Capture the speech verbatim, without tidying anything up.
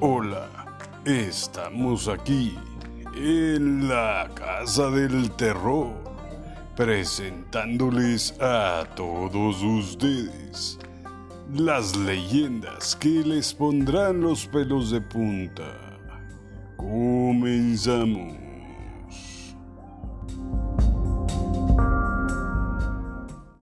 Hola, estamos aquí en la Casa del Terror, presentándoles a todos ustedes las leyendas que les pondrán los pelos de punta. Comenzamos.